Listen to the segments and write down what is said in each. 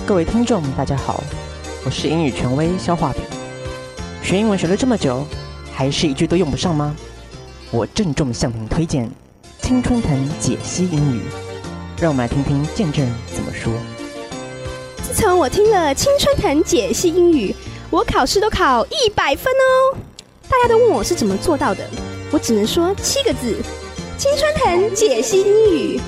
各位聽眾大家好，我是英語權威消化餅。學英文學了這麼久，還是一句都用不上嗎？我鄭重向您推薦青春藤解析英語，讓我們來聽聽見證人怎麼說。 自從我聽了青春藤解析英語，我考試都考100分哦。大家都問我是怎麼做到的，我只能說7個字：青春藤解析英語。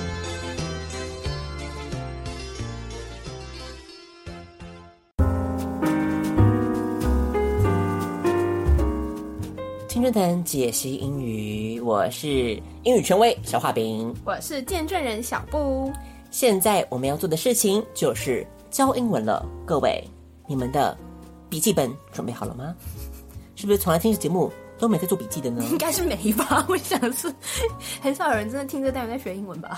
青春藤解析英語，我是英語權威小畫餅， 我是見證人小布。 現在我們要做的事情就是教英文了。各位，你們的筆記本準備好了嗎？是不是從來聽這節目都沒在做筆記的呢？ 應該是沒吧，我想是很少有人真的聽這單元在學英文吧。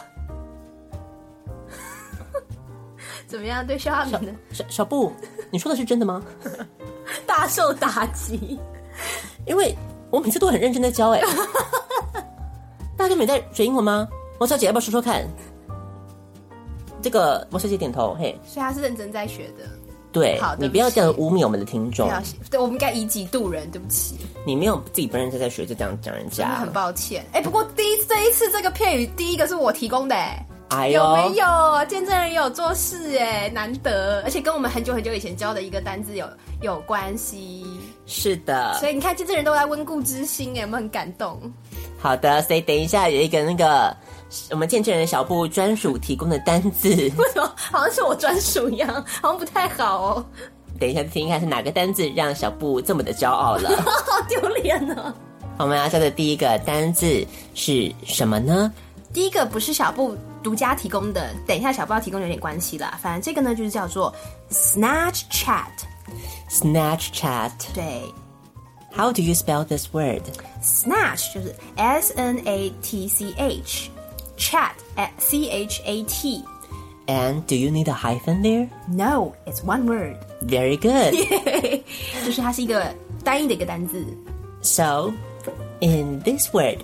怎麼樣？對消化餅的小布，你說的是真的嗎？ 大受打擊， 因為我每次都很認真在教大家都沒在學英文嗎？王小姐要不要說說看？這個王小姐點頭，嘿， 所以她是認真在學的。 對， 好， 你不要這樣污蔑我們的聽眾。 對，我們應該以己度人，對不起。你沒有自己不認真在學，就這樣講人家， 很抱歉。不過這一次這個片語，第一個是我提供的， 哎呦， 有沒有？見證人也有做事，難得，而且跟我們很久很久以前教的一個單字有關係。 是的， 所以你看，見證人都在溫故知新，有沒有很感動？ 好的，所以等一下有一個那個我們見證人小布專屬提供的單字，為什麼好像是我專屬一樣，好像不太好哦。 等一下聽一看是哪個單字讓小布這麼的驕傲了， 好丟臉哦。 我們要教的第一個單字是什麼呢？ 第一個不是小布獨家提供的，等一下小布要提供有點關係啦。反正這個呢就是叫做 Snatch Chat。Snatch Chat， 對。 How do you spell this word? Snatch 就是 S-N-A-T-C-H， Chat C-H-A-T。 And do you need a hyphen there? No, it's one word. Very good. 就是它是一个单一的一个单字。 So, in this word,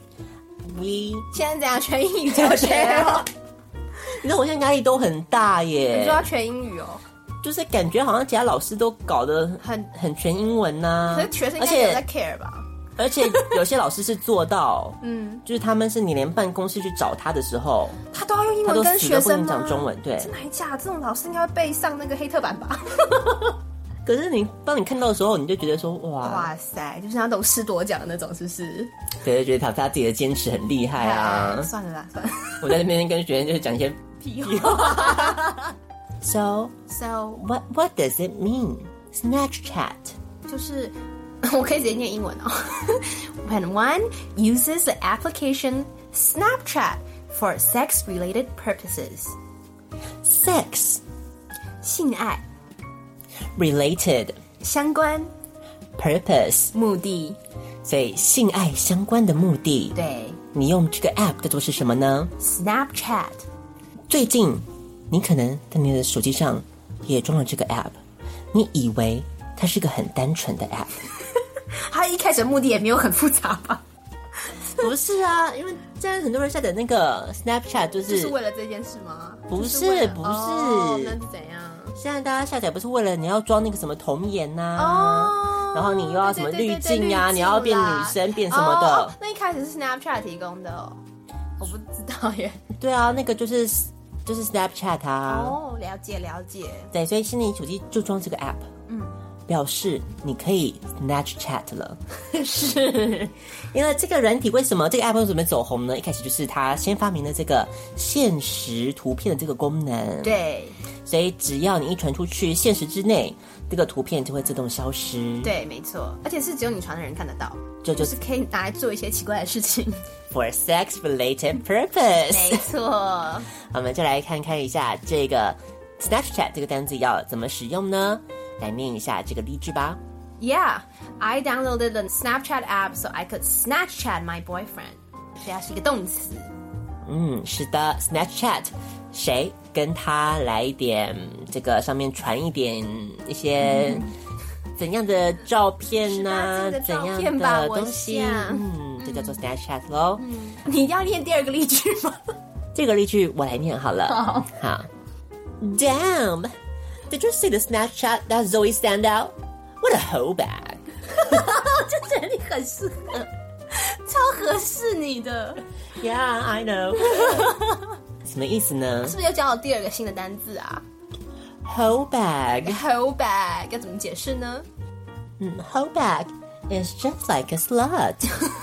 we 現在怎樣全英語教學哦？ 你知道我現在壓力都很大耶。 你說要全英語哦？就是感覺好像其他老師都搞得很全英文啊， 可是學生應該有在 care 吧？ 而且有些老師是做到，就是他們是你連辦公室去找他的時候， 他都要用英文跟學生嗎？ 他都死都不能講中文，對。 真的還假？這種老師應該會背上那個黑特版吧？ 可是當你看到的時候，你就覺得說哇塞，就是那種師鐸獎的那種，是不是？ 對，就覺得他自己的堅持很厲害啊。 算了啦，算了。 我在那邊跟學生就是講一些屁話。So what does it mean? Snatch chat 就是我可以直接念英文哦。When one uses the application Snapchat for sex-related purposes. Sex 性愛 related 相關 purpose 目的， 所以性愛相關的目的。 對， 你用這個 app 叫做是什麼呢？ Snapchat。 最近你可能在你的手機上也裝了這個 app， 你以為它是個很單純的 app。 它一開始的目的也沒有很複雜吧？ 不是啊，因為現在很多人下載那個 Snapchat 就是為了這件事嗎？ 不是，不是， 那是怎樣？ 現在大家下載不是為了你要裝那個什麼童顏啊，然後你又要什麼濾鏡啊，你要變女生變什麼的。 那一開始是 Snapchat 提供的哦，我不知道耶。對啊，那個就是 Snapchat 啊。 哦，了解了解。 對，所以現在你手機就裝這個 app，表示你可以 Snatch Chat 了。 是， 因為這個軟體為什麼這個 app 為什麼走紅呢？一開始就是它先發明了這個限時圖片的這個功能。 對， 所以只要你一傳出去，限時之內，這個圖片就會自動消失。 對，沒錯，而且是只有你傳的人看得到，就是可以拿來做一些奇怪的事情。 For sex-related purpose。 沒錯。 我們就來看看一下這個 Snapchat 這個單字要怎麼使用呢？來念一下這個例句吧。 Yeah, I downloaded the Snapchat app so I could Snapchat my boyfriend. 它是一個動詞。 是的 ，Snapchat， 誰跟他來一點這個上面傳一些怎樣的照片啊，怎樣的東西，這叫做 Snapchat 咯。 你要念第二個例句嗎？ 這個例句我來念好了。好。Damn, Did you see the Snapchat that Zoe sent out? What a hoe bag! 就觉得你很適合，超合適你的。 Yeah, I know. 什麼意思呢？ 是不是又教了第二個新的單字啊 ？Hoe bag. Hoe bag 要怎麼解釋呢 ？Hoe bag is just like a slut.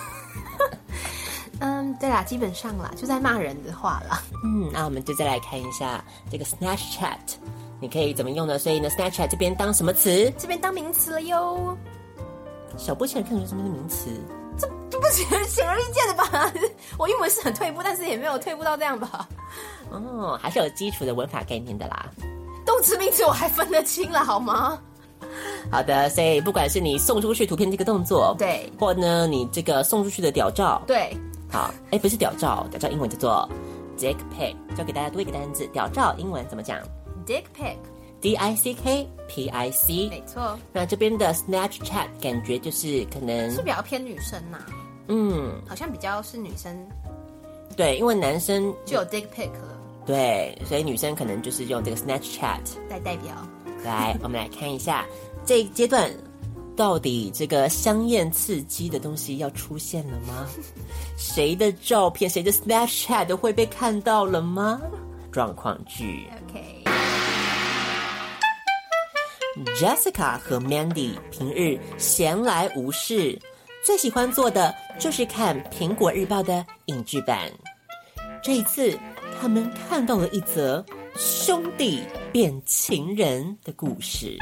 對啦，基本上啦，就在罵人的話啦。 那我們就再來看一下這個 Snapchat， 你可以怎麼用呢？所以呢 ，Snapchat 這邊當什麼詞？ 這邊當名詞了喲。 小波現在看出什麼是名詞？ 這不顯而易見的吧？我英文是很退步，但是也沒有退步到這樣吧？ 還是有基礎的文法概念的啦。 動詞名詞我還分得清了，好嗎？ 好的，所以不管是你送出去圖片這個動作， 對， 或呢你這個送出去的屌照， 對， 好，不是屌照，屌照英文叫做 dick pic， 教給大家多一個單字，屌照英文怎麼講 ？dick pic。 DICKPIC， 沒錯。那這邊的 Snapchat 感覺就是可能是比較偏女生好像比較是女生。 對，因為男生就有 dick pic 了。 對，所以女生可能就是用這個 Snapchat 來代表。 來，我們來看一下這一階段到底這個香豔刺激的東西要出現了嗎？誰的照片，誰的 Snapchat 都會被看到了嗎？狀況劇。Jessica 和 Mandy 平日閒來無事，最喜歡做的就是看蘋果日報的影劇版。這一次，他們看到了一則兄弟變情人的故事。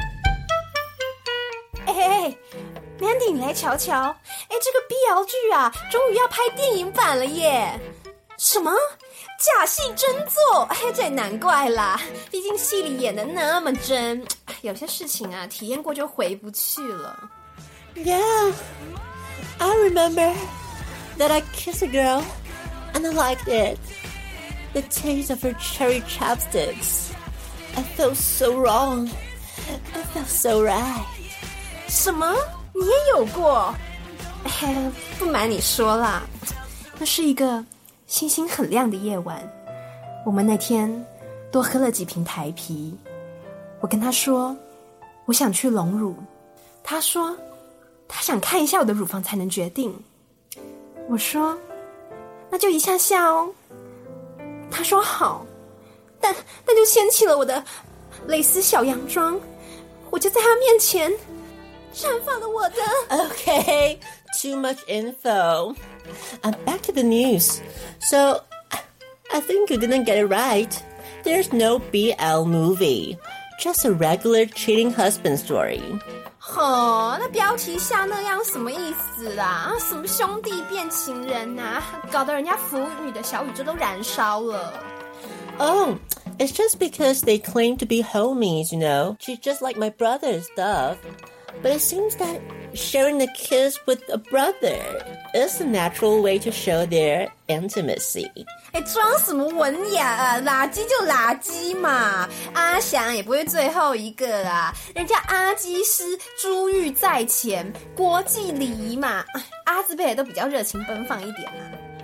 Mandy 你來瞧瞧，這個 BL 劇啊，終於要拍電影版了耶！什麼？假戲真做？這也難怪啦，畢竟戲裡演得那麼真，有些事情啊，體驗過就回不去了。 Yeah, I remember that I kissed a girl and I liked it. The taste of her cherry chopsticks. I felt so wrong. I felt so right. 什麼？你也有過？不瞞你說啦，那是一個星星很亮的夜晚，我們那天多喝了幾瓶台啤。我跟他說我想去隆乳，他說他想看一下我的乳房才能決定。我說那就一下下哦。他說好，但就掀起了我的蕾絲小洋裝，我就在他面前绽放了我的。 Okay, too much info. Back to the news. So, I think you didn't get it right. There's no BL movie. Just a regular cheating husband story. 那標題下那樣什麼意思啦？什麼兄弟變情人啊？搞得人家腐女的小宇宙都燃燒了。 Oh, it's just because they claim to be homies, you know. She's just like my brother and stuff. But it seems that sharing a kiss with a brother is a natural way to show their intimacy. 裝什麼文雅啊？垃圾就垃圾嘛！阿翔也不會最後一個啦，人家阿基師珠玉在前，國際禮儀嘛。阿字輩都比較熱情奔放一點啊。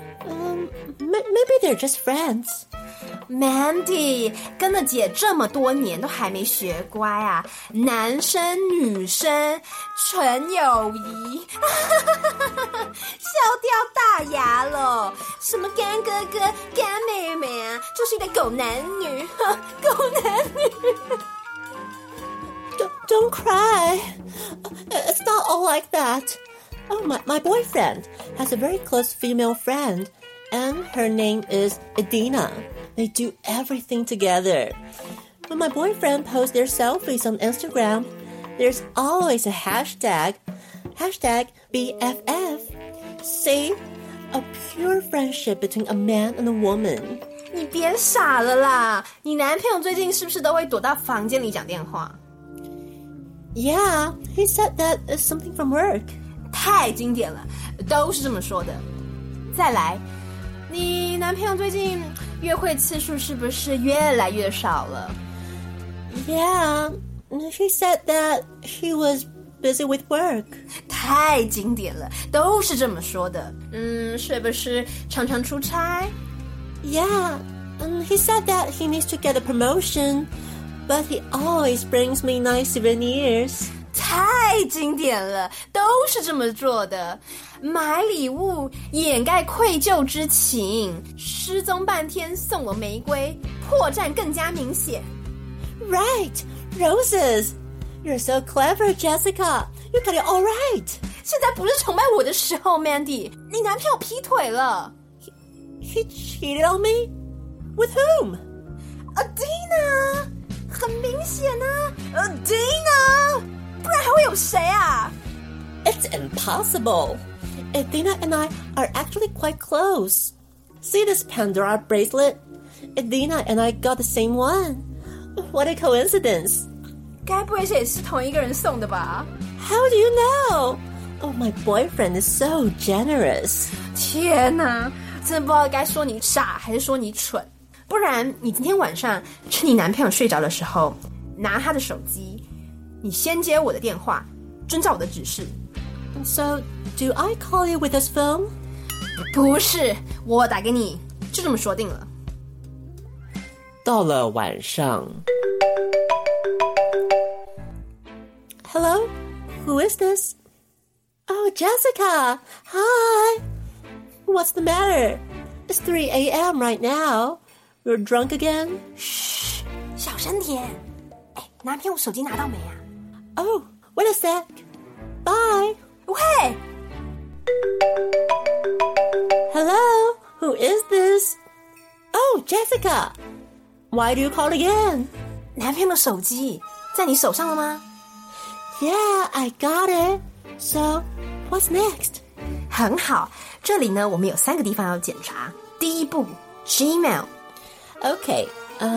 Maybe they're just friends. Mandy 跟了姐這麼多年都還沒學乖啊！男生女生純友誼，笑掉大牙了。什麼乾哥哥乾妹妹啊，就是一對狗男女，狗男女。 Don't cry. It's not all like that. Oh, my boyfriend has a very close female friend, and her name is Edina. They do everything together. When my boyfriend posts their selfies on Instagram, there's always a hashtag BFF. See? A pure friendship between a man and a woman. 你別傻了啦！你男朋友最近是不是都會躲到房間裡講電話？ Yeah, he said that it's something from work. 太經典了，都是這麼說的。再來，你男朋友最近約會次數是不是越來越少了？ Yeah, he said that he was busy with work. 太經典了，都是這麼說的。是不是常常出差？ Yeah, and he said that he needs to get a promotion, but he always brings me nice souvenirs. 太经典了，都是這麼做的。買禮物掩蓋愧疚之情，失蹤半天送我玫瑰，破綻更加明顯。 Right, roses. You're so clever, Jessica. You got it all right. 現在不是崇拜我的時候 ，Mandy。你男朋友劈腿了。 He cheated on me? With whom? Adina. 很明顯啊 ，Adina。不然還會有誰啊 It's impossible. Adina and I are actually quite close. See this Pandora bracelet? Adina and I got the same one. What a coincidence. 該不會也是同一個人送的吧 How do you know? Oh, my boyfriend is so generous. 天哪，真的不知道該說你傻還是說你蠢。不然你今天晚上趁你男朋友睡着的時候，拿他的手機，你先接我的電話，遵照我的指示。 So, do I call you with this phone? 不是，我打給你，就這麼說定了。 到了晚上。Hello? Who is this? Oh, Jessica! Hi! What's the matter? It's 3 a.m. right now. You're drunk again? 噓，小聲點。哎，男朋友手機拿到沒啊？ Oh, wait a sec. Bye. 喂 Hello? Who is this? Oh, Jessica. Why do you call again? 男朋友的手機在你手上了嗎？ Yeah, I got it. So, what's next? 很好，這裡呢，我們有3個地方要檢查。第一步 ，Gmail。Okay,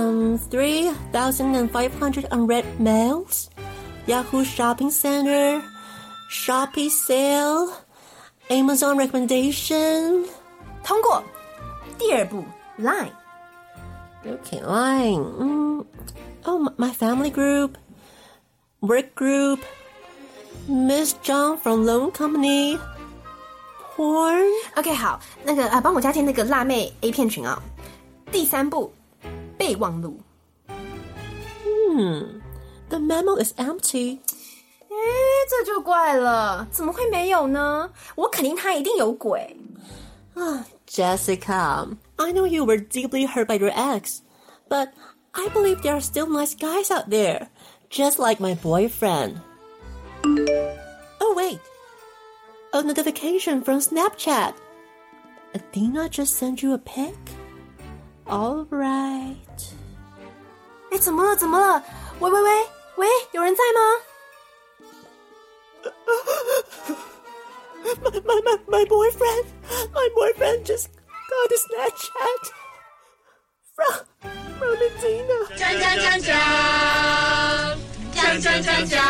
3,500 unread mails, Yahoo Shopping Center, Shopee Sale, Amazon Recommendation. 通過。第二步 ，Line. Okay, Line. Oh, my family group, work group, Miss John from Loan Company, porn. OK, 好，那個幫我加進那個辣妹 A 片群啊。第三步，備忘錄。 The memo is empty. 這就怪了，怎麼會沒有呢？我肯定他一定有鬼。 Jessica, I know you were deeply hurt by your ex, but I believe there are still nice guys out there, just like my boyfriend. Oh, wait. A notification from Snapchat. Adina just sent you a pic? All right. 哎，怎麼了？怎麼了？喂，有人在嗎 ？My boyfriend. My boyfriend just got a Snapchat from Adina. 講。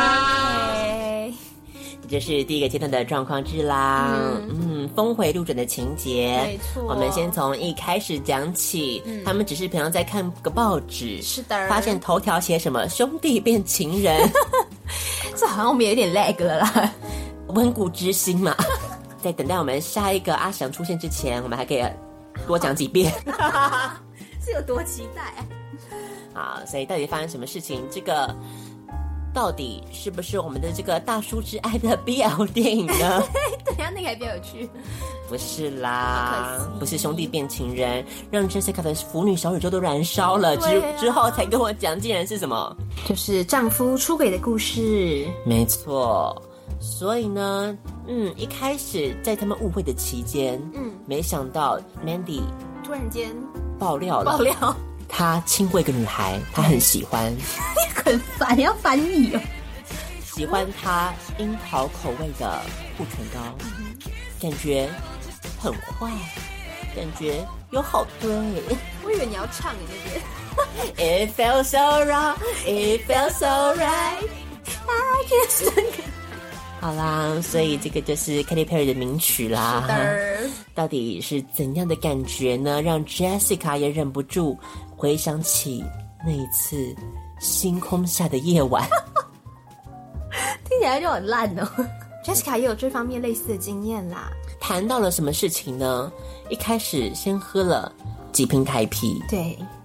這是第一個階段的狀況字啦，峰回路轉的情節， 沒錯。 我們先從一開始講起，他們只是平常在看個報紙， 是的， 發現頭條寫什麼兄弟變情人， 這好像我們有點 lag 了啦， 溫故知新嘛。在等待我們下一個阿翔出現之前，我們還可以多講幾遍， 是有多期待啊？好，所以到底發生什麼事情？這個。到底是不是我們的這個大叔之愛的 BL 電影呢？ 等一下那個還比較有趣。 不是啦，不是兄弟變情人，讓 Jessica 的腐女小宇宙都燃燒了，之後才跟我講，竟然是什麼？ 就是丈夫出軌的故事。 沒錯。所以呢，一開始在他們誤會的期間，沒想到 Mandy 突然間爆料了。他親過一個女孩，他很喜歡。 你很煩，要翻譯哦。 喜歡他櫻桃口味的護唇膏，感覺很壞，感覺有好對。 我以為你要唱你那邊。 It felt so wrong, it felt so right. I can't stand. 好啦，所以這個就是 Katy Perry 的名曲啦。到底是怎樣的感覺呢？讓 Jessica 也忍不住回想起那一次星空下的夜晚。 聽起來就很爛哦。Jessica 也有這方面類似的經驗啦。 談到了什麼事情呢？一開始先喝了幾瓶台啤， 對，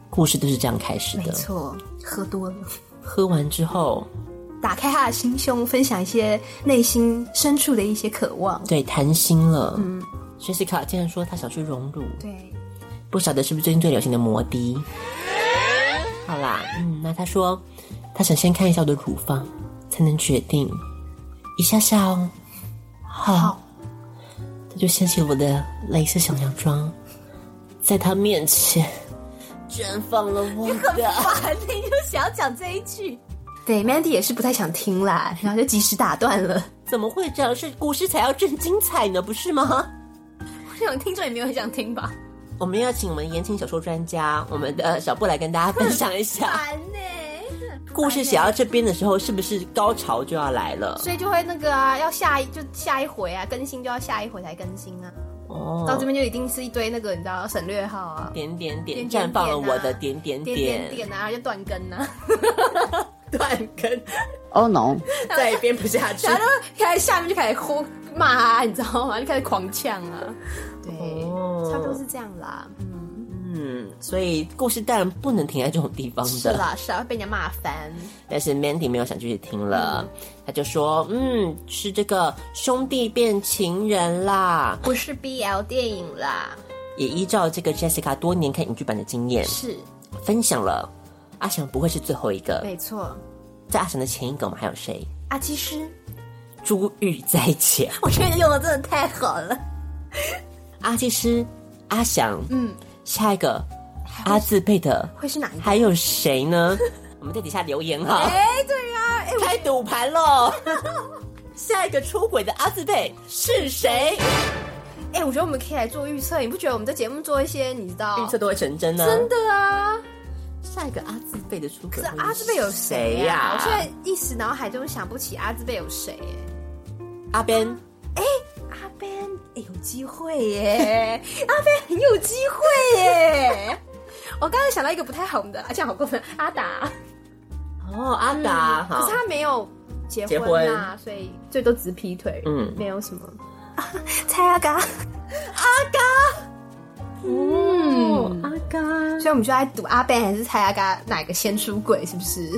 故事都是這樣開始的。 沒錯，喝多了， 喝完之後打開他的心胸，分享一些內心深處的一些渴望。 對，談心了。Jessica 竟然說她想去隆乳。 對， 不曉得是不是最近最流行的摩的。好啦，那她說她想先看一下我的乳房，才能決定。一下下哦。好。她就掀起了我的蕾絲小洋裝，在她面前绽放了我的。 你很煩，你就想要講這一句。對 ，Mandy 也是不太想聽啦，然後就及時打斷了。 怎麼會這樣？是故事才要正精彩呢，不是嗎？ 我想聽眾也沒有很想聽吧。 我們要請我們言情小說專家，我們的小布來跟大家分享一下。 煩呢。 故事寫到這邊的時候，是不是高潮就要來了？ 所以就會那個啊，要下一回啊，更新就要下一回才更新啊。 哦， 到這邊就一定是一堆那個你知道省略號啊， 點點點綻放了我的點點點啊，就斷更啊， 斷更。 Oh no， 再也編不下去， 然後開始下面就開始罵啊，你知道嗎？就開始狂嗆啊。對，差不多是這樣啦。 所以故事當然不能停在這種地方的。 是啦，是啊，被人家罵翻。 但是 Mandy 沒有想繼續聽了，他就說：“是這個兄弟變情人啦， 不是 BL 電影啦。” 也依照這個 Jessica 多年看影劇版的經驗， 是分享了阿翔不會是最後一個。 沒錯， 在阿翔的前一個，我們還有誰？ 阿基師、 珠玉在前。 我覺得用的真的太好了。 阿基師、阿翔，下一個阿字輩的會是哪一個？ 還有誰呢？我們在底下留言哈。 對啊， 開賭盤嘍！下一個出軌的阿字輩是誰？ 我覺得我們可以來做預測。你不覺得我們在節目做一些，你知道預測都會成真呢？ 真的啊！ 下一個阿字輩的出軌， 可是阿字輩有誰呀？我現在一時腦海中想不起阿字輩有誰。 阿 Ben， 阿 Ben，有機會耶！阿 Ben 很有機會耶！我剛才想到一個不太紅的，這樣好過分。阿達， 阿達， 可是他沒有結婚啊，所以最多只是劈腿，沒有什麼。蔡阿嘎，阿嘎，阿嘎，所以我們就來賭阿 Ben 還是蔡阿嘎哪個先出軌，是不是？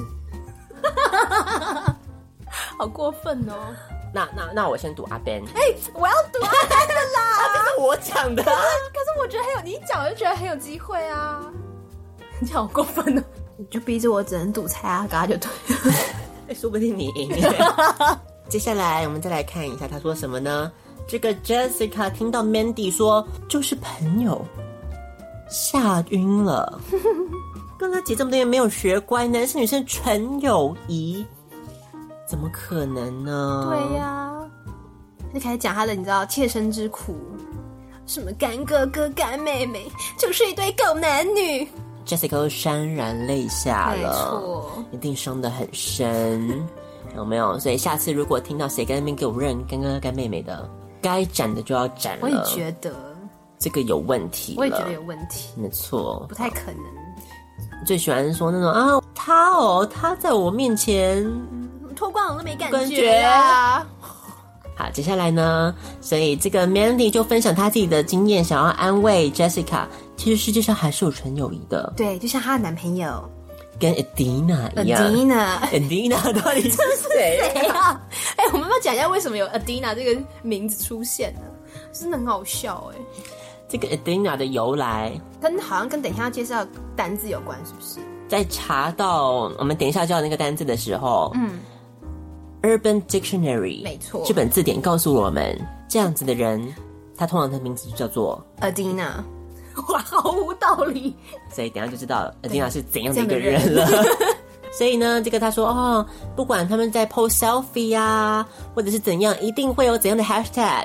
好過分哦！ 那我先賭阿 Ben。 我要賭阿 Ben 的啦！ 這是我講的。可是我覺得你一講我就覺得很有機會啊！你好過分哦！你就逼着我只能賭蔡阿嘎就对了。 說不定你贏。接下來我們再來看一下他說什麼呢？這個 Jessica 聽到 Mandy 說就是朋友，嚇暈了。跟他姐這麼多年沒有學乖，男生女生純友誼，怎麼可能呢？ 對呀，就開始講他的你知道切身之苦，什麼乾哥哥乾妹妹，就是一對狗男女。 Jessica 都潸然淚下了， 沒錯， 一定傷得很深，有沒有？所以下次如果聽到誰在那邊給我認乾哥哥乾妹妹的，該斬的就要斬了。 我也覺得這個有問題了， 我也覺得有問題，沒錯， 不太可能。 最喜歡說那種啊，他在我面前脫光我都沒感覺啊。 好，接下來呢，所以這個 Mandy 就分享他自己的經驗，想要安慰 Jessica。其實世界上還是有純友誼的， 對，就像她的男朋友跟 Adina 一樣。Adina 到底是誰啊？我們要講一下為什麼有 Adina 這個名字出現呢？真的很好笑哎。 這個 Adina 的由來， 好像跟等一下要介紹單字有關，是不是？ 在查到我們等一下叫那個單字的時候，Urban Dictionary 沒錯， 這本字典告訴我們，這樣子的人，他通常的名字就叫做 Adina。哇，毫無道理。 所以等一下就知道 Adina 是怎樣的一個人了。所以呢，這個他說不管他們在 post selfie 啊，或者是怎樣，一定會有怎樣的 hashtag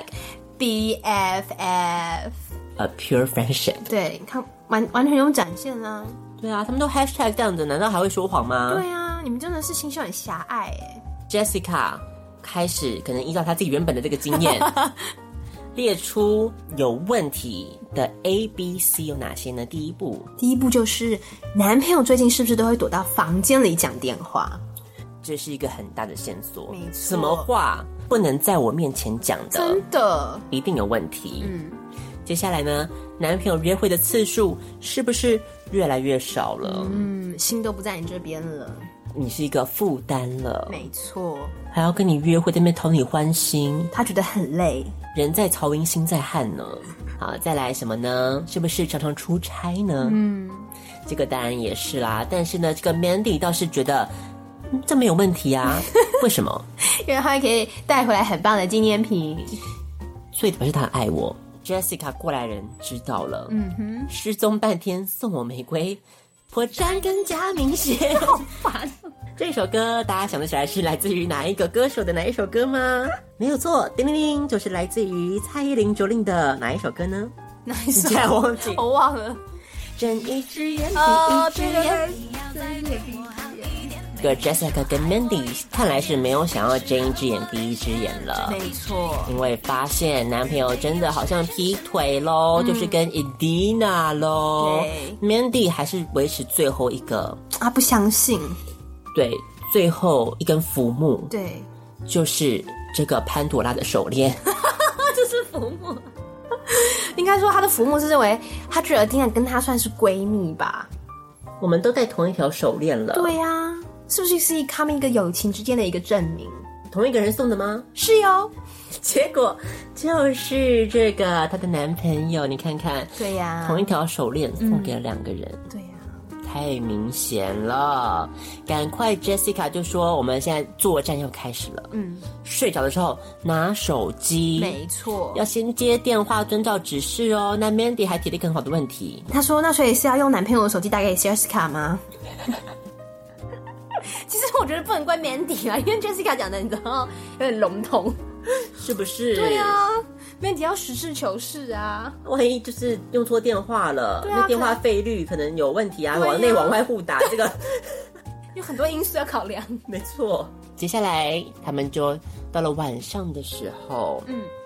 BFF。A pure friendship。 對，看完全有展現啊。 對啊，他們都 hashtag 這樣子，難道還會說謊嗎？ 對啊，你們真的是心胸很狹隘哎。 Jessica 開始可能依照他自己原本的這個經驗，列出有問題的 ABC 有哪些呢？第一步就是男朋友最近是不是都會躲到房間裡講電話？ 這是一個很大的線索。 沒錯， 什麼話不能在我面前講的？ 真的一定有問題。 接下來呢，男朋友約會的次數是不是越來越少了？ 心都不在你這邊了， 你是一個負擔了。 沒錯， 還要跟你約會，在那邊討你歡心， 他覺得很累， 人在曹營心在漢呢。好，再來什麼呢？是不是常常出差呢？這個當然也是啦。但是呢，這個 Mandy 倒是覺得這沒有問題啊。為什麼？ 因為他可以帶回來很棒的紀念品， 所以表示他很愛我。Jessica 過來人知道了，失蹤半天送我玫瑰，破綻更加明顯。好煩！這首歌大家想得起來是來自於哪一個歌手的哪一首歌嗎？沒有錯，叮鈴鈴，就是來自於蔡依林9令的哪一首歌呢？ 哪一首？ 你竟然忘記？ 我忘了。 睜一隻眼閉一隻眼。這個 Jessica 跟 Mandy 看來是沒有想要睜一隻眼閉一隻眼了， 沒錯， 因為發現男朋友真的好像劈腿咯，就是跟 Edina 咯。對 Mandy 還是維持最後一個， 他不相信， 對，最後一根浮木， 對， 就是這個潘朵拉的手鏈， 這是浮木。應該說他的浮木是認為他覺得 Edina 跟他算是閨蜜吧， 我們都戴同一條手鏈了， 對呀。是不是他們一個友情之間的一個證明？ 同一個人送的嗎？ 是喲。 結果就是這個她的男朋友，你看看， 對呀， 同一條手鏈送給了兩個人， 對呀， 太明顯了。趕快 Jessica 就說我們現在作戰要開始了，睡着的時候拿手機， 沒錯， 要先接電話，遵照指示哦。那 Mandy 還提了一個很好的問題， 他說那所以是要用男朋友的手機打給 Jessica 嗎？其實我覺得不能怪 Mandy 啊，因為 Jessica 講的你知道有點籠統， 是不是？ 對啊 ，Mandy 要實事求是啊， 萬一就是用錯電話了， 對啊， 那電話費率可能有問題啊，往內往外互打，這個有很多因素要考量。 沒錯，接下來他們就到了晚上的時候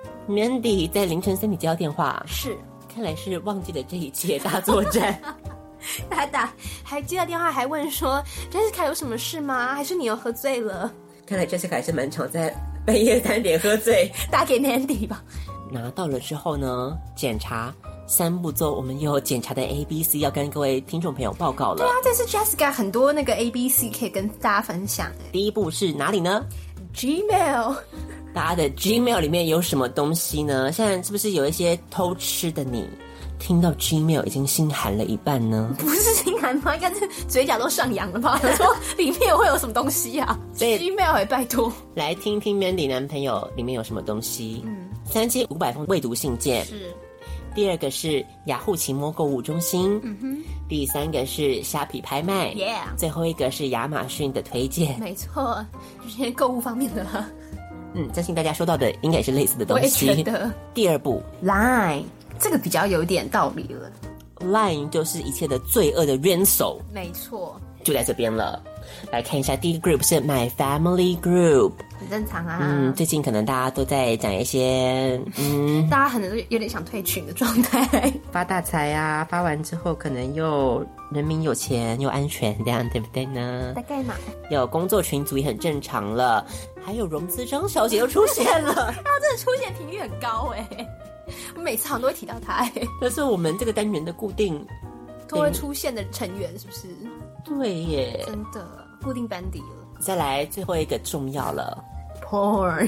，Mandy 在凌晨3點接到電話， 是， 看來是忘記了這一切大作戰。 還接到電話，還問說 Jessica 有什麼事嗎？還是你又喝醉了？ 看來 Jessica 還是蠻常在半夜3點喝醉。 打給 Mandy 吧。 拿到了之後呢，檢查3步驟，我們又有檢查的 ABC 要跟各位聽眾朋友報告了。 對啊，這次 Jessica 很多那個 ABC 可以跟大家分享。 第一步是哪裡呢？ Gmail。 大家的 Gmail 裡面有什麼東西呢？現在是不是有一些偷吃的你？聽到 Gmail 已經心寒了一半呢？ 不是心寒嗎？應該是嘴角都上揚了吧？我說裡面會有什麼東西啊？所以 Gmail 也拜託來聽聽 Mandy 男朋友裡面有什麼東西。3500封未讀信件。是。第2個是雅虎奇摩購物中心。第3個是蝦皮拍賣。最後一個是亞馬遜的推薦。沒錯，就是購物方面的了。相信大家收到的應該也是類似的東西。我也覺得。第2步 Line。這個比較有點道理了。Line 就是一切的罪惡的元首，沒錯，就在這邊了。來看一下，第一個 group 是 My Family Group，很正常啊。最近可能大家都在講一些，大家可能都有點想退群的狀態，發大財啊，發完之後可能又人民有錢又安全，這樣對不對呢？大概嘛。有工作群組也很正常了，還有融資張小姐又出現了，她真的出現頻率很高欸。我每次好像都會提到他，這是我們這個單元的固定都會出現的成員，是不是？對耶，真的固定班底了。再來最後一個重要了 ，Porn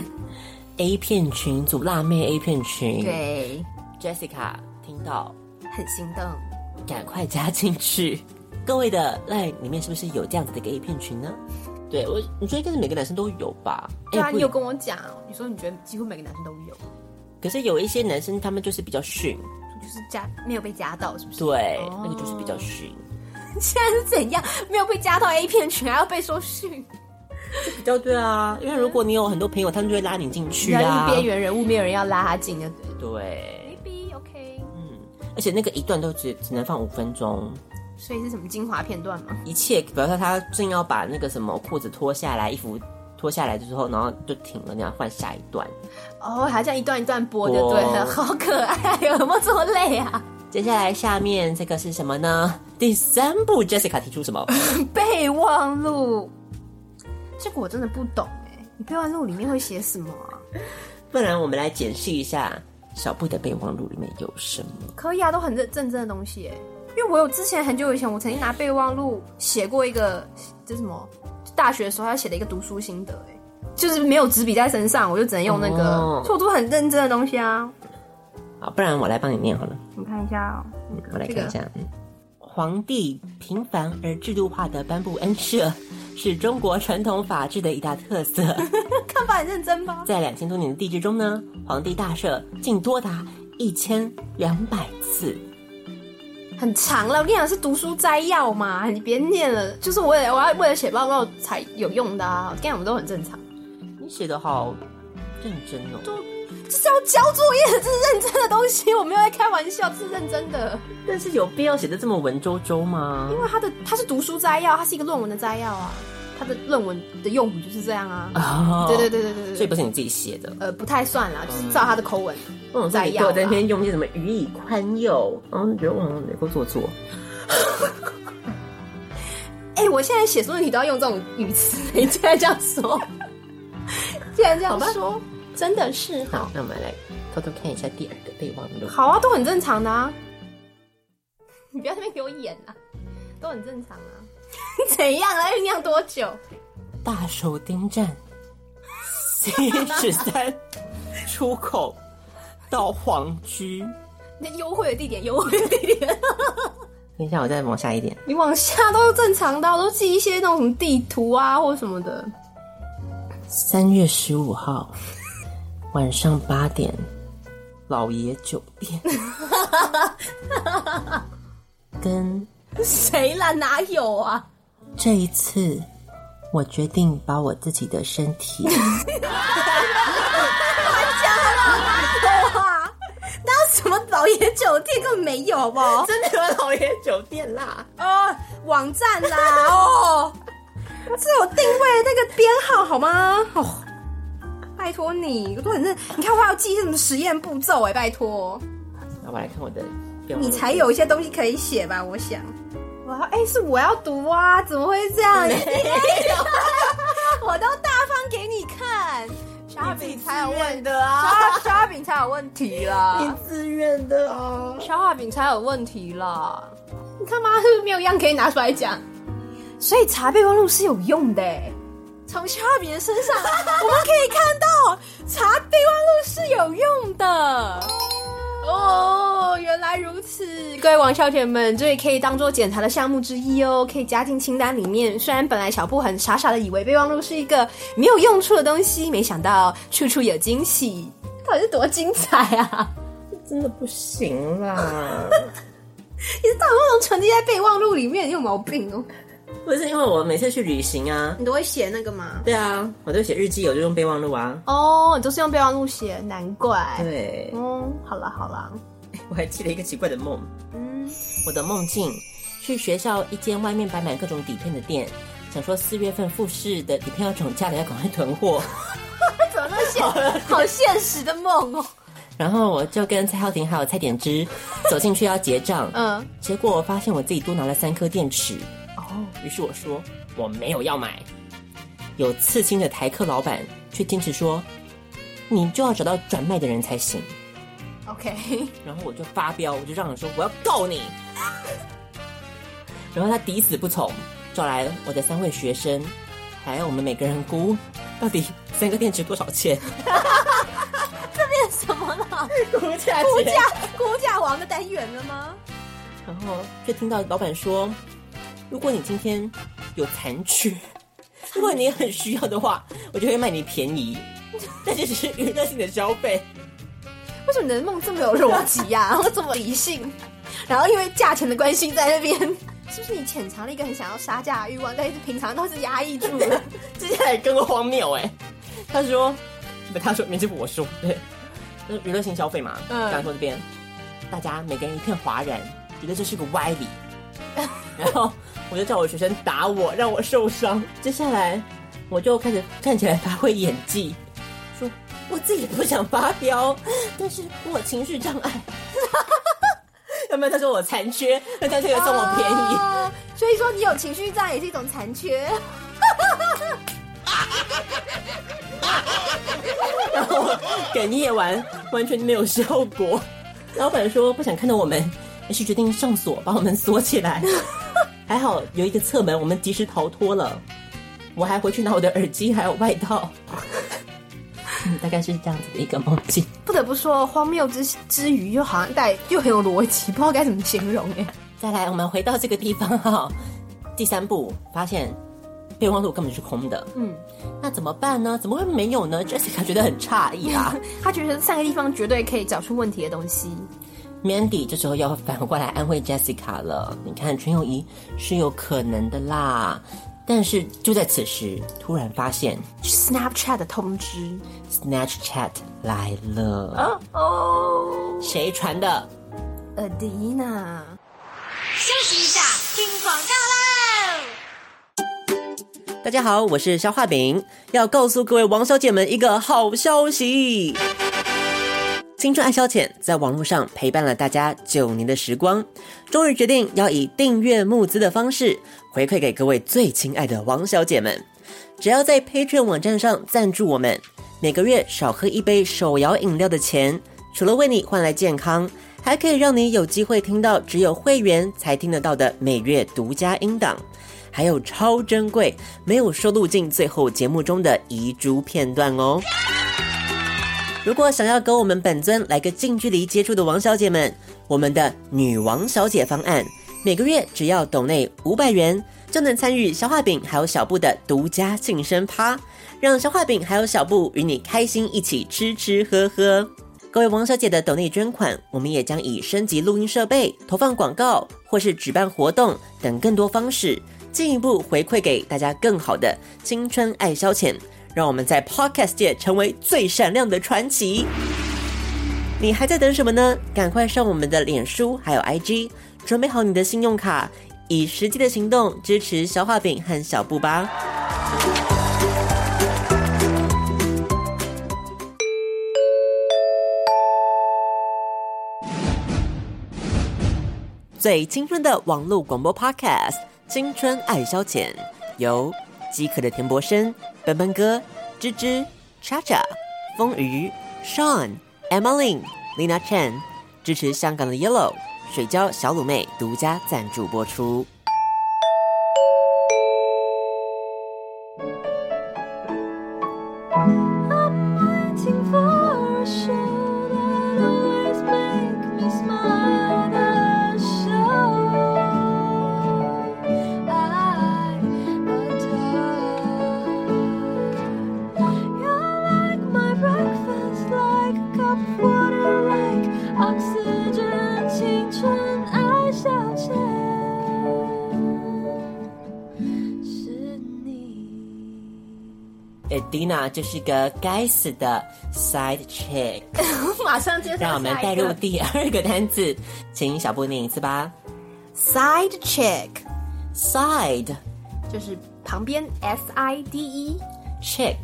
A 片群組，辣妹 A 片群。對 ，Jessica 聽到很心動，趕快加進去。各位的 Line 裡面是不是有這樣子的一個 A 片群呢？對你覺得應該是每個男生都有吧？對啊，你有跟我講，你說你覺得幾乎每個男生都有。可是有一些男生，他們就是比較遜，就是沒有被加到，是不是？對，那個就是比較遜。現在是怎樣？沒有被加到 A 片群，還要被說遜？比較對啊，因為如果你有很多朋友，他們就會拉你進去啊。邊緣人物，沒有人要拉他進的。對 ，maybe OK。而且那個一段都只能放5分鐘。所以是什麼精華片段嗎？一切，比如說他正要把那個什麼褲子脫下來，衣服脫下來的時候，然後就停了，那樣換下一段。哦，還這樣一段一段播就對了，好可愛，有沒有這麼累啊？接下來下面這個是什麼呢？第3步 Jessica 提出什麼？備忘錄。這個我真的不懂哎，你備忘錄裡面會寫什麼啊？不然我們來解釋一下小布的備忘錄裡面有什麼？ 可以啊，都很認真的東西耶。因為我有之前很久以前，我曾經拿備忘錄寫過一個，這什麼？大學的時候他寫了一個讀書心得，就是沒有紙筆在身上，我就只能用那個，所以我都很認真的東西啊。 好，不然我來幫你念好了。 你看一下哦， 我來看一下。皇帝平凡而制度化的頒布恩赦，是中國傳統法治的一大特色。 看法很認真吧？在 2000多年的帝制中呢，皇帝大赦竟多達1200次。 很長了，我跟你講是讀書摘要嘛，你別念了。就是我要為了寫報告才有用的啊，我跟你講我們都很正常。 你寫得好認真哦， 這是要交作業的，這是認真的東西，我沒有在開玩笑，這是認真的。 但是有必要寫得這麼文縐縐嗎？ 因為它是讀書摘要，它是一個論文的摘要啊。他的論文的用語就是這樣啊。哦，對， 所以不是你自己寫的。 不太算啦，就是照他的口吻摘要。 我在那邊用一些什麼予以寬宥，然後你覺得我能夠做作。 我現在寫書問題都要用這種語詞，你竟然這樣說，竟然這樣說，真的是。 好，那我們來偷偷看一下第二個備忘錄。 好啊，都很正常的啊。你不要在那邊給我演啊，都很正常啊。怎樣了？醞釀多久？ 大手丁站 C13 出口到皇居。 那優惠的地點。 等一下，我再往下一點。 你往下都是正常的，我都記一些那种什麼地圖啊，或什麼的。 3月15號晚上8點，老爺酒店。跟誰啦？哪有啊？ 這一次，我決定把我自己的身體。 亂講了！那什麼老爺酒店根本沒有，好不好？ 真的有老爺酒店啦！ 哦，網站啦！哦，是有定位的那個編號好嗎？哦，拜託你，我都很認。你看我還要記什麼實驗步驟拜託。 那我來看我的。 你才有一些東西可以寫吧？我想，是我要讀啊，怎麼會這樣？沒有，我都大方給你看，小餅才有問的啊，小餅才有問題啦， 你自願的啊， 小餅才有問題啦，你看嘛，是不是沒有一樣可以拿出來講？所以查備忘錄是有用的，從小餅的身上我們可以看到查備忘錄是有用的。哦，原來如此，各位王小姐們，這也可以當做檢查的項目之一哦，可以加進清單裡面。雖然本來小布很傻傻的以為備忘錄是一個沒有用處的東西，沒想到處處有驚喜，到底是多精彩啊！ 真的不行啦！ 你是到底為什麼存積在備忘錄裡面？你有毛病哦！ 不是因為我每次去旅行啊， 你都會寫那個嗎？ 對啊，我都寫日記，我就用備忘錄啊。 哦，你都是用備忘錄寫，難怪。 對， 好啦。 我還記得一個奇怪的夢。我的夢境去學校一間外面擺滿各種底片的店，想說4月份複試的底片要漲價了，要趕快囤貨。 怎麼那麼好現實的夢哦！ 然後我就跟蔡浩庭還有蔡點之走進去要結賬，結果我發現我自己多拿了3顆電池。於是我說我沒有要買，有刺青的台客老闆卻堅持說你就要找到轉賣的人才行。 OK， 然後我就發飆，我就嚷嚷說我要告你。然後他抵死不從，找來我的3位學生，還要我們每個人估到底3個電池多少錢。 這變什麼了？估價王的單元了嗎？ 然後就聽到老闆說，如果你今天有殘缺，如果你很需要的話，我就會賣你便宜。但這只是娛樂性的消費。 為什麼你的夢這麼有邏輯呀？然後這麼理性，然後因為價錢的關係在那邊，是不是你潛藏了一個很想要殺價的慾望，但是平常都是壓抑住的？ 接下來更荒謬他說名字不我說，對，娛樂性消費嘛。剛才說這邊，大家每個人一片嘩然，覺得這是個歪理。然後我就叫我學生打我，讓我受傷。接下來我就開始看起來發揮演技，說我自己不想發飆，但是我情緒障礙。有沒有？他說我殘缺，那這樣就可以送我便宜。 所以說你有情緒障礙也是一種殘缺。 然後哽咽完完全沒有效果。老闆說不想看到我們，於是決定上鎖，把我們鎖起來。還好有一個側門，我們及時逃脫了。我還回去拿我的耳機還有外套。大概是這樣子的一個夢境。 不得不說，荒謬之餘又好像又很有邏輯，不知道該怎麼形容耶。 再來，我們回到這個地方哈。第3步發現備忘錄根本是空的。那怎麼辦呢？怎麼會沒有呢？ Jessica 覺得很詫異啊。 他覺得3個地方絕對可以找出問題的東西。 Mandy 這時候要反過來安慰 Jessica 了。你看，純友誼是有可能的啦。但是就在此時，突然發現 Snapchat 的通知 ，Snapchat 來了。誰傳的 ？Adina。 休息一下，聽廣告嘍！ 大家好，我是消化餅，要告訴各位王小姐們一個好消息。青春愛消遣在網絡上陪伴了大家9年的時光，終於決定要以訂閱募資的方式回饋給各位最親愛的王小姐們。只要在 Patreon 網站上贊助我們，每個月少喝一杯手搖飲料的錢，除了為你換來健康，還可以讓你有機會聽到只有會員才聽得到的每月獨家音檔，還有超珍貴沒有收錄進最後節目中的遺珠片段哦。如果想要跟我們本尊來個近距離接觸的王小姐們，我們的女王小姐方案，每個月只要抖內500元，就能參與消化餅還有小布的獨家慶生趴，讓消化餅還有小布與你開心一起吃吃喝喝。各位王小姐的抖內捐款，我們也將以升級錄音設備、投放廣告或是舉辦活動等更多方式，進一步回饋給大家更好的青春愛消遣，讓我們在 Podcast 界成為最閃亮的傳奇。你還在等什麼呢？趕快上我們的臉書還有 IG， 準備好你的信用卡，以實際的行動支持消化餅和小布吧。最青春的網絡廣播 Podcast， 青春愛消遣，由飢渴的田伯生、奔奔哥、芝芝、叉叉、風魚、Sean、Emmeline、Lina Chen 支持香港的 Yellow 水餃小滷妹獨家贊助播出。Adina 就是個該死的 side chick， 馬上接上。 讓我們帶入第2個單字，請小布念一次吧。 Side chick，side 就是旁邊 ，SIDE chick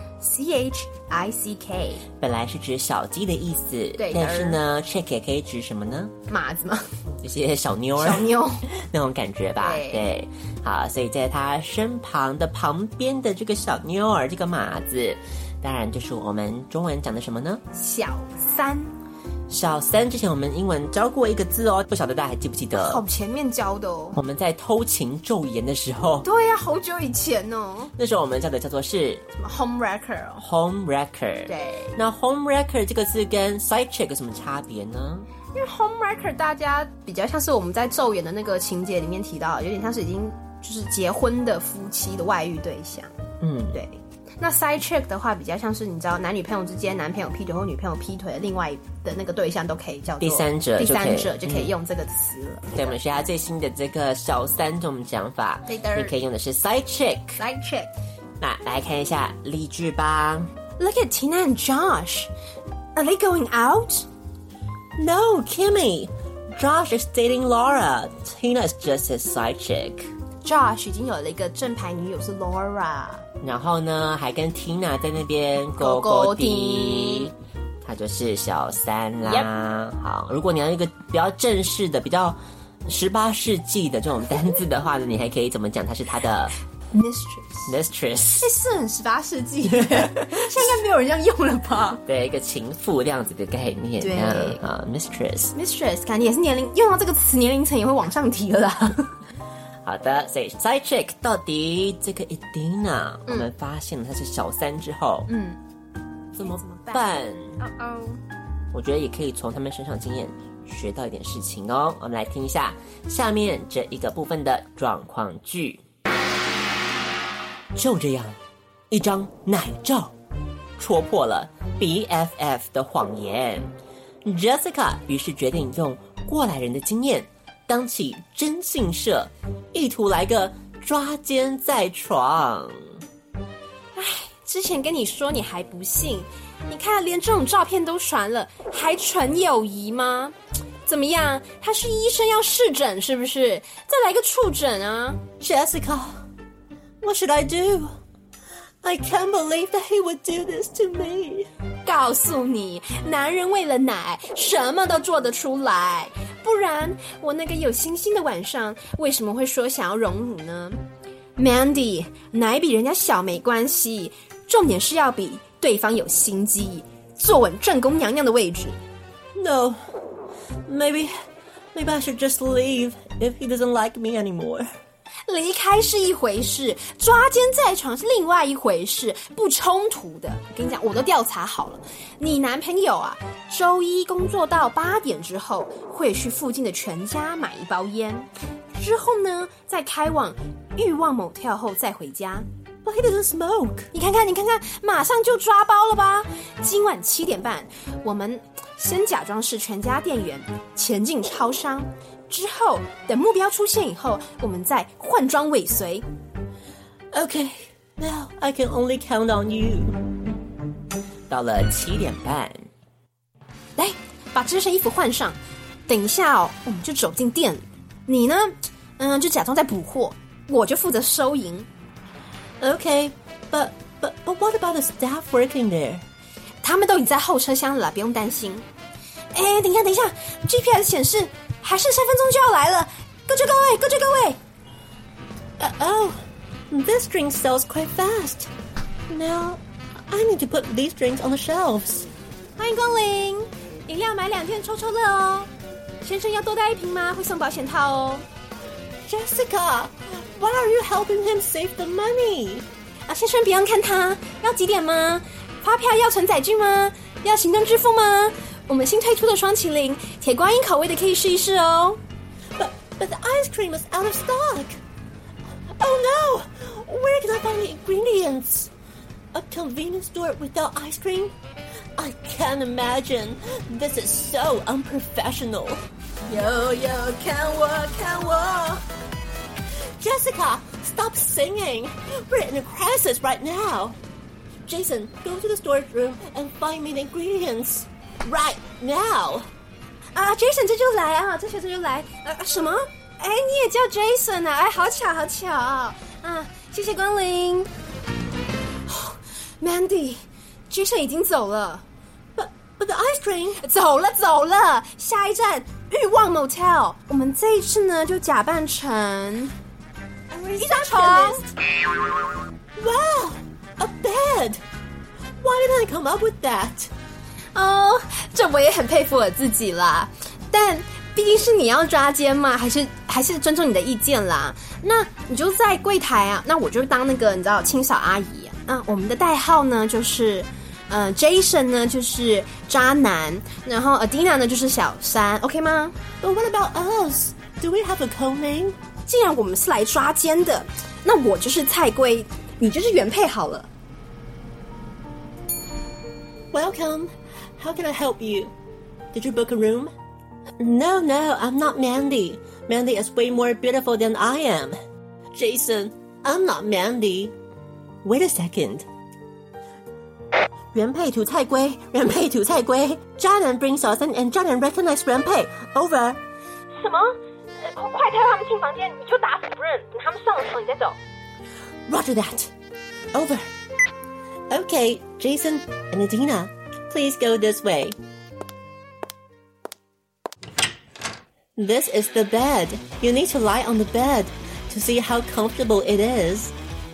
CHICK， 本來是指小雞的意思， 對， 但是呢 chick 也可以指什麼呢？ 馬子嗎？ 這些小妞兒， 小妞那種感覺吧。對，好，所以在他身旁的旁邊的這個小妞兒，這個馬子，當然就是我們中文講的什麼呢？ 小三。 小三之前我們英文教過一個字哦，不曉得大家還記不記得？ 好前面教的哦。 我們在偷情咒言的時候。 對呀，好久以前哦。 那時候我們教的叫做是什麼 home wrecker。 home wrecker。对。那 home wrecker 這個字跟 side chick 有什麼差別呢？ 因為 home wrecker 大家比較像是我們在咒言的那個情節裡面提到，有點像是已經就是結婚的夫妻的外遇對象。对。那 side chick 的話，比较像是你知道男女朋友之間，男朋友劈腿或女朋友劈腿的另外的那個對象都可以叫做第三者就可以用這個詞了。 對，我們學下最新的這個小三這種講法， 對的， 你可以用的是 side chick。 side chick。 那來看一下例句吧。 Look at Tina and Josh. Are they going out? No, Kimmy. Josh is dating Laura. Tina's just his side chick. Josh 已經有了一個正牌女友是 Laura， 然後呢還跟 Tina 在那邊勾勾滴，他就是小三啦。好，如果你要一個比較正式的、比較18世紀的這種單字的話呢，你還可以怎麼講？他是他的 Mistress， 是很18世紀，現在應該沒有人這樣用了吧？ 對，一個情婦這樣子的概念。 對啊 ，Mistress， 感覺也是用到這個詞，年齡層也會往上提了啦。 好的，所以 side chick 到底這個 Edina，我們發現了她是小三之後，怎麼辦？我覺得也可以從他們身上經驗學到一點事情哦。我們來聽一下下面這一個部分的狀況劇。就這樣，一張奶照戳破了 BFF 的謊言。Jessica 於是決定用過來人的經驗當起徵信社，意圖來個抓奸在床。 唉，之前跟你說你還不信，你看連這種照片都傳了，還純友誼嗎？怎麼樣？他是醫生要試診是不是？再來個觸診啊 ！Jessica，what should I do? I can't believe that he would do this to me. 告訴你，男人為了奶，什麼都做得出來。不然，我那個有星星的晚上，為什麼會說想要榮辱呢 ？Mandy， 奶比人家小沒關係，重點是要比對方有心機，坐穩正宮娘娘的位置。 No, maybe I should just leave if he doesn't like me anymore. 離開是一回事，抓奸在床是另外一回事，不衝突的。我跟你講，我都調查好了，你男朋友啊，週一工作到8點之後，會去附近的全家買一包菸，之後呢，再開往慾望 motel 後再回家。 But he doesn't smoke. 你看看，馬上就抓包了吧？今晚7點半，我們先假裝是全家店員，前進超商。之後，等目標出現以後，我們再換裝尾隨。 Okay, now I can only count on you. 到了7點半， 來把這身衣服換上。等一下哦，我們就走進店裡。你呢，就假裝在補貨，我就負責收銀。 Okay, but what about the staff working there? 他們都已經在後車廂了啦，不用擔心。哎，等一下 ，GPS 顯示。還剩3分鐘就要來了，各就各位。 Oh, this drink sells quite fast. Now, I need to put these drinks on the shelves. 歡迎光臨，飲料買2片抽抽樂哦。先生要多帶1瓶嗎？會送保險套哦。 Jessica, why are you helping him save the money? 先生不用看他，要幾點嗎？發票要存載具嗎？要行動支付嗎？我們新推出的雙麒麟鐵觀音口味的可以試一試哦。 But the ice cream is out of stock. Oh no! Where can I find the ingredients? A convenience store without ice cream? I can't imagine. This is so unprofessional. Yo,看我 Jessica, stop singing. We're in a crisis right now. Jason, go to the storage room and find me the ingredients.Right now. Jason 这就来啊，这就来。什麼？哎，你也叫 Jason 啊？哎，好巧啊！謝謝光臨。Mandy，Jason 已經走了。 But the ice cream 走了。下一站慾望 motel。我們這一次呢，就假扮成一張床。 Wow, a bed. Why didn't I come up with that? 這我也很佩服我自己啦，但畢竟是你要抓奸嘛，還是尊重你的意見啦。那你就在櫃檯啊，那我就當那個你知道清掃阿姨啊。我們的代號呢就是Jason 呢就是渣男，然後 Edina 呢就是小三 ，OK 嗎？ But what about us? Do we have a code name? 既然我們是來抓奸的，那我就是菜龜，你就是原配好了。 Welcome.How can I help you? Did you book a room? No, I'm not Mandy. Mandy is way more beautiful than I am. Jason, I'm not Mandy. Wait a second. 原配土菜龜，渣男 bring 小三 and 渣男 recognize 原配 over. 什麼？快帶他們進房間，你就打死不認，等他們上了床你再走。 Roger that. Over. Okay, Jason and Edina.Please go this way. This is the bed. You need to lie on the bed to see how comfortable it is.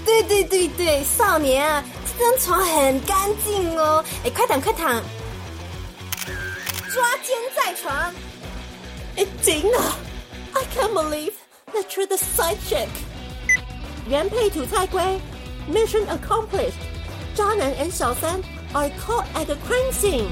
對對對對，少年啊，這張床很乾淨哦。哎，快躺快躺，抓奸在床。 哎，Dina, I can't believe that you're the side chick. 原配土菜龜 ，Mission accomplished. 渣男 and 小三 are caught at the crime scene.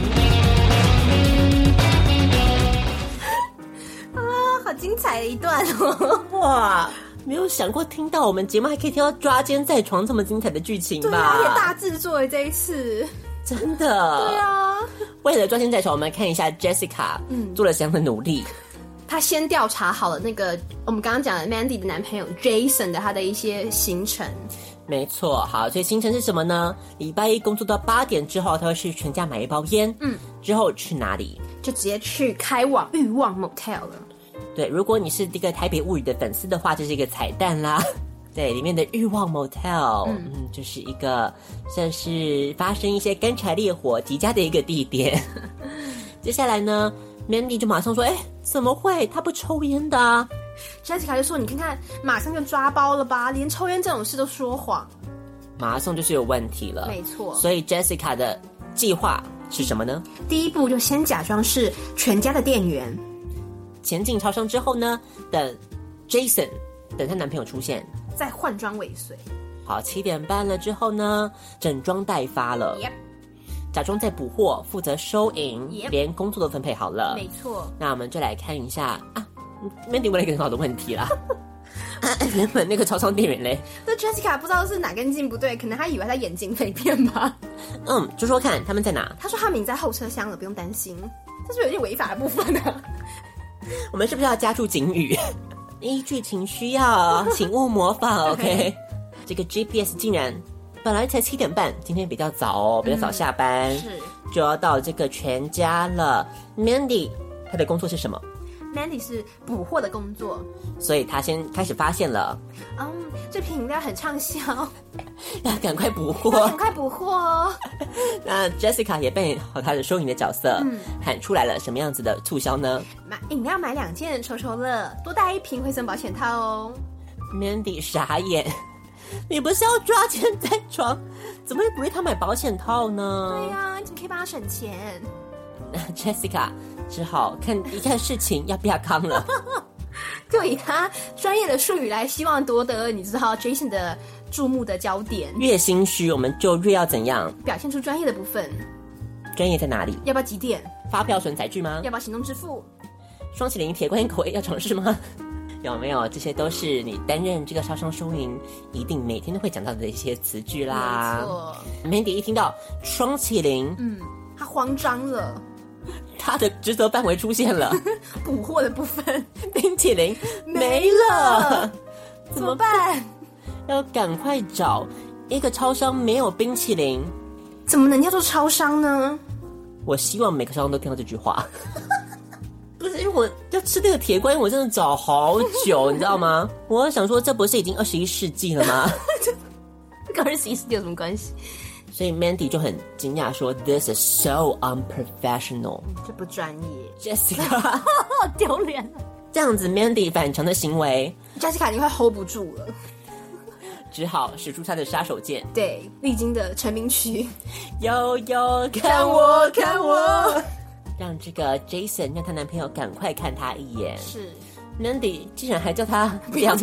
好精彩的一段哦！ 哇，沒有想過聽到我們節目還可以聽到抓奸在床這麼精彩的劇情吧？ 對啊，也大制作了這一次， 真的。 對啊， 為了抓奸在床，我們來看一下 Jessica 做了什麼樣的努力。 她先調查好了那個我們剛剛講的 Mandy 的男朋友 Jason 的他的一些行程。 沒錯，好，所以行程是什麼呢？禮拜一工作到8點之後，他會去全家買一包菸，之後去哪裡？就直接去開往慾望 Motel 了。 對，如果你是這個台北物語的粉絲的話，這是一個彩蛋啦。對，裡面的慾望 Motel，就是一個算是發生一些乾柴烈火極佳的一個地點。接下來呢 ，Mandy 就馬上說：“哎，怎麼會？他不抽菸的啊。” Jessica 就說：“你看看，馬上就抓包了吧？連抽菸這種事都說謊， 馬上就是有問題了。” 沒錯。所以 Jessica 的計劃是什麼呢？ 第一步就先假裝是全家的店員。 前進超商之後呢，等 Jason 等她男朋友出現， 再換裝尾隨。 好，7點半了之後呢，整裝待發了。假裝在補貨，負責收銀，連工作都分配好了。 沒錯。那我們就來看一下啊 ，Mandy 問了一個很好的問題啦。原本那個超商店員嘞， 那 Jessica 不知道是哪根筋不對，可能他以為他眼睛被騙吧。 就說看他們在哪。 他說他們已經在後車廂了，不用擔心。這是不是有點違法的部分呢？ 我們是不是要加注警語？依劇情需要，請勿模仿。OK， 這個 GPS 竟然本來才7點半，今天比較早哦，比較早下班，就要到這個全家了。Mandy 她的工作是什麼 ？Mandy 是補貨的工作， 所以她先開始發現了， 這瓶飲料很暢銷， 要趕快補貨， 趕快補貨哦。 那 Jessica 也扮演好她的收銀的角色，喊出來了什麼樣子的促銷呢？ 飲料買2件抽抽樂，多帶1瓶會送保險套哦。 Mandy 傻眼，你不是要抓奸在床，怎麼會鼓勵他買保險套呢？ 對呀，你怎麼可以幫他省錢？ 那 Jessica 只好看一看事情要不要扛了。 就以他專業的術語來，希望奪得你知道 Jason 的注目的焦點。 越心虛，我們就越要怎樣表現出專業的部分。 專業在哪裡？ 要不要幾點？ 發票存載具嗎？ 要不要行動支付？ 雙麒麟鐵觀音口味要嘗試嗎？有沒有？這些都是你擔任這個超商收銀一定每天都會講到的一些詞句啦。沒錯。Mandy 一聽到雙麒麟， 他慌張了。 他的職責範圍出現了， 補貨的部分， 冰淇淋沒了， 怎麼辦？ 要趕快找一個超商沒有冰淇淋， 怎麼能叫做超商呢？ 我希望每個超商都聽到這句話。不是，因為我要吃那個鐵觀音，我真的找好久，你知道嗎？我想說，這不是已經21世紀了嗎？ 跟21世紀有什麼關係？ 所以 Mandy 就很驚訝說 ：“This is so unprofessional， 這不專業。” Jessica 好丟臉了。 這樣子 Mandy 反常的行為 ，Jessica 已經快 hold 不住了， 只好使出她的殺手鐧。 對，歷經的成名曲， 悠悠看我看我，讓這個 Jason 讓她男朋友趕快看她一眼。 是 Mandy 竟然還叫她不要。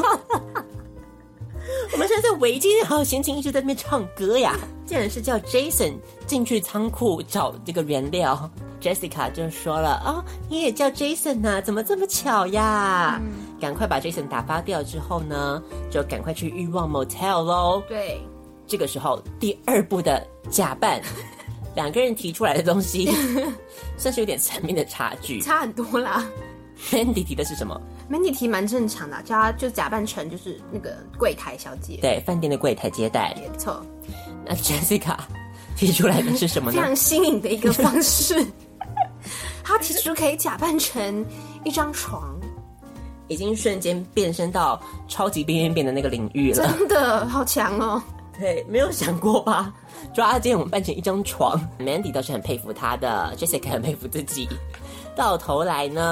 我們現在在圍巾還有閒情一直在那邊唱歌呀，竟然是叫 Jason 進去倉庫找這個原料。Jessica 就說了你也叫 Jason 啊，怎麼這麼巧呀？趕快把 Jason 打發掉之後呢，就趕快去慾望 Motel 咯。 對， 這個時候第2步的假扮，2個人提出來的東西算是有點層面的差距， 差很多啦。 Mandy 提的是什麼 ？Mandy 提蠻正常的，叫他就假扮成就是那個櫃檯小姐， 對，飯店的櫃檯接待， 沒錯。 那 Jessica 提出來的是什麼呢？ 非常新穎的一個方式。他提出可以假扮成一張床， 已經瞬間變身到超級邊緣變的那個領域了， 真的好強哦！ 對，沒有想過吧？抓奸我們扮成一張床，Mandy 倒是很佩服他的，Jessica 很佩服自己。到頭來呢，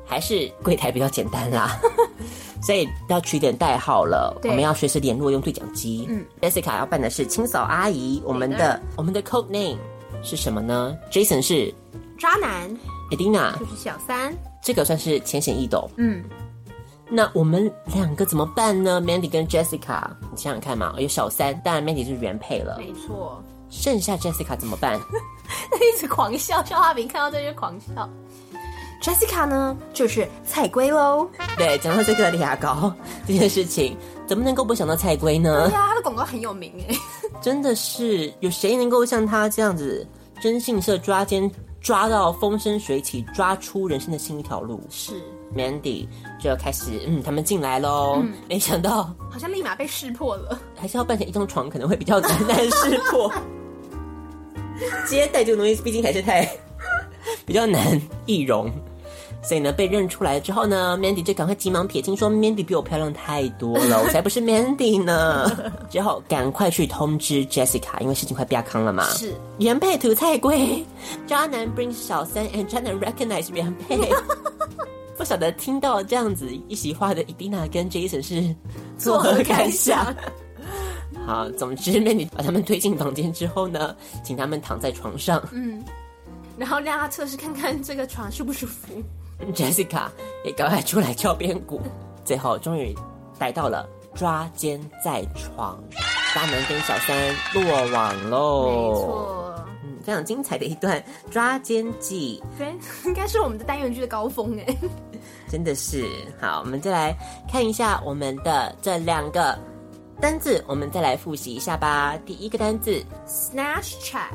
還是櫃檯比較簡單啦，所以要取點代號了。我們要隨時聯絡用對講機。Jessica 要扮的是清掃阿姨。我們的 code name 是什麼呢？ Jason 是渣男 ，Edina 就是小三。 這個算是淺顯易懂。那我們兩個怎麼辦呢 ？Mandy 跟 Jessica， 你想想看嘛，有小三，當然 Mandy 是原配了， 沒錯。 剩下 Jessica 怎麼辦？ 一直狂笑，肖化餅看到這就狂笑。Jessica 呢，就是菜龜嘍。對，講到這個牙膏這件事情，怎麼能夠不想到菜龜呢？對呀，他的廣告很有名哎。真的是，有誰能夠像他這樣子徵信社抓奸抓到風生水起，抓出人生的新一條路？是 Mandy 就開始他們進來嘍。沒想到好像立馬被識破了，還是要扮成一張床可能會比較難識破。接待這個東西畢竟還是太比較難易容，所以呢被認出來之後呢 Mandy 就趕快急忙撇清說 Mandy 比我漂亮太多了，我才不是 Mandy 呢。之後趕快去通知 Jessica， 因為事情快變康了嘛。是原配吐菜龜，渣男 brings 小三 and 渣男 recognize 原配。不曉得聽到這樣子一席話的 Edina 跟 Jason 是作何感想？好，總之 Mandy 把他們推進房間之後呢，請他們躺在床上，然後讓他測試看看這個床舒不舒服。Jessica 也趕快出來敲邊鼓，最後終於逮到了抓奸在床，渣男跟小三落網嘍。沒錯，非常精彩的一段抓奸記，對，應該是我們的單元劇的高峰哎，真的是。好，我們再來看一下我們的這兩個單字，我們再來複習一下吧。第一個單字 Snapchat，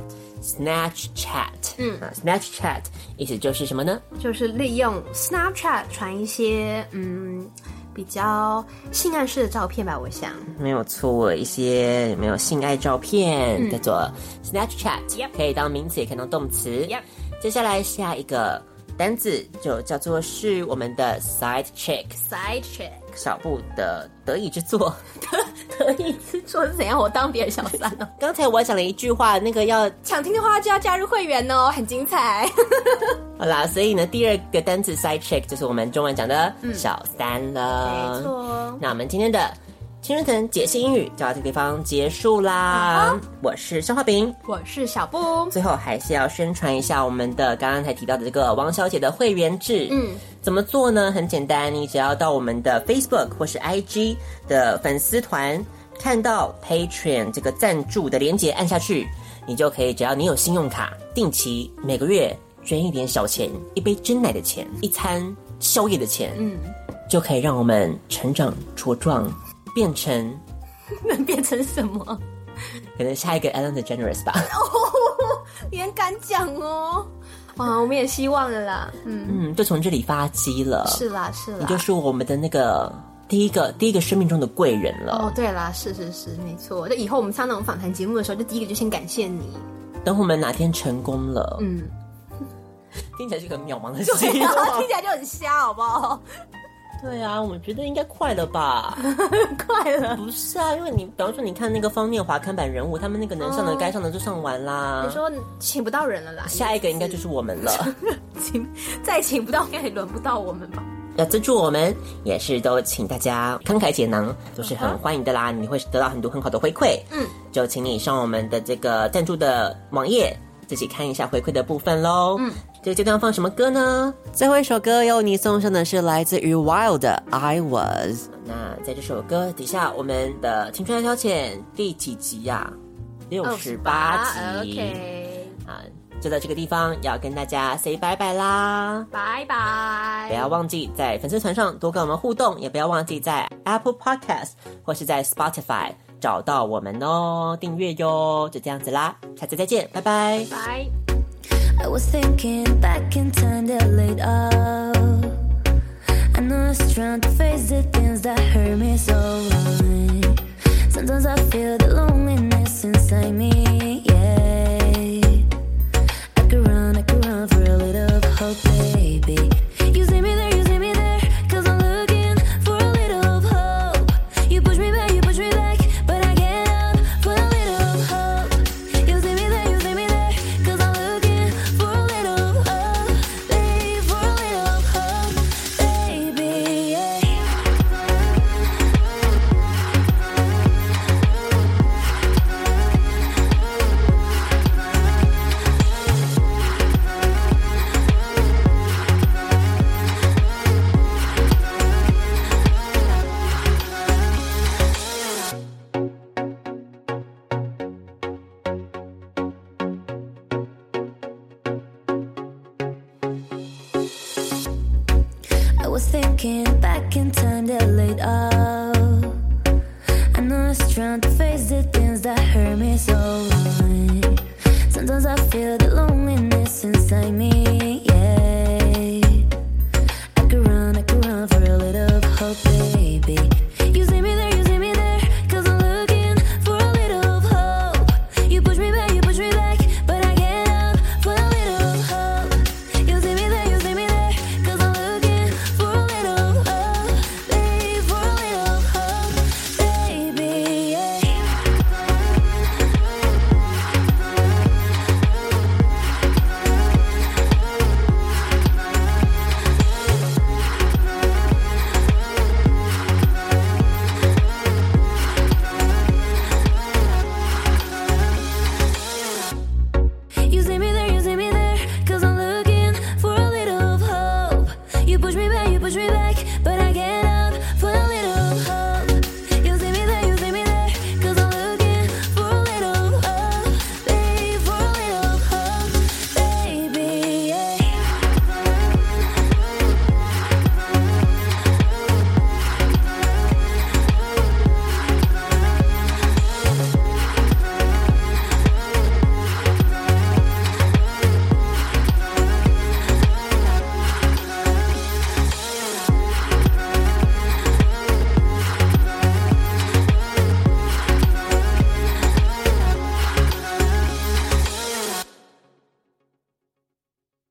Snapchat 意思就是什麼呢？就是利用 Snapchat 傳一些比較性暗示的照片吧，我想。沒有錯，一些有沒有性愛照片叫做 Snapchat，可以當名詞也可以當動詞。接下來下一個单字就叫做是我們的 side chick， 小布的得意之作。得意之作是怎樣？我當別人小三哦。剛才我講了一句話，那個要想聽的話就要加入會員哦，很精彩。好啦，所以呢，第二個單字 side chick 就是我們中文講的小三了。沒錯。那我們今天的青春藤解析英語就到這個地方結束啦。我是肖化餅，我是小布。最後還是要宣傳一下我們的剛剛才提到的這個王小姐的會員制。怎麼做呢？很簡單，你只要到我們的 Facebook 或是 IG 的粉絲團，看到 Patreon 這個贊助的連結按下去，你就可以，只要你有信用卡，定期每個月捐一點小錢，一杯珍奶的錢，一餐宵夜的錢，就可以讓我們成長茁壯，變成能变成什麼？可能下一個 Ellen DeGeneres 吧。你很敢講哦。哇，我們也希望了啦。就從這裡發跡了。是啦，是啦。你就是我們的那個第一個生命中的貴人了。哦，對啦，是，沒錯。就以後我們上那種訪談節目的時候，就第一個就先感謝你。等我們哪天成功了，聽起來是個很渺茫的希望，聽起來就很瞎，好不好？對啊，我覺得應該快了吧？快了？不是啊，因為你比方說你看那個方念華看板人物，他們那個能上的該上的就上完啦。你說請不到人了啦？下一個應該就是我們了。再請不到，應該也輪不到我們吧？要資助我們，也是都請大家慷慨解囊，都是很歡迎的啦。你會得到很多很好的回饋。就請你上我們的這個贊助的網頁，自己看一下回饋的部分咯。這個階段放什麼歌呢？最後一首歌由你送上的是來自於 Wild 的 I Was。那在這首歌底下，我們的青春愛消遣第幾集呀？68集。OK。就在這個地方要跟大家 say 拜拜啦，拜拜！不要忘記在粉絲團上多跟我們互動，也不要忘記在 Apple Podcast 或是在 Spotify 找到我們哦，訂閱喲，就這樣子啦，下次再見，拜拜，拜。I was thinking back in time that laid up. I know it's trying to face the things that hurt me so wrong. Sometimes I feel the loneliness inside me, yeah. I could run for a little hope, baby. You see me there, cause I'm looking for a little hope. You push me back, but I get up for a little hope. You see me there, cause I'm looking for a little hope, babe, for a little hope. was thinking back in time that laid up. I know it's trying to face the things that hurt me so much. Sometimes I feel the loneliness inside me.